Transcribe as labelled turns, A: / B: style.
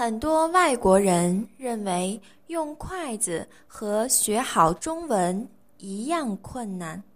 A: 很多外国人认为用筷子和学好中文一样困难。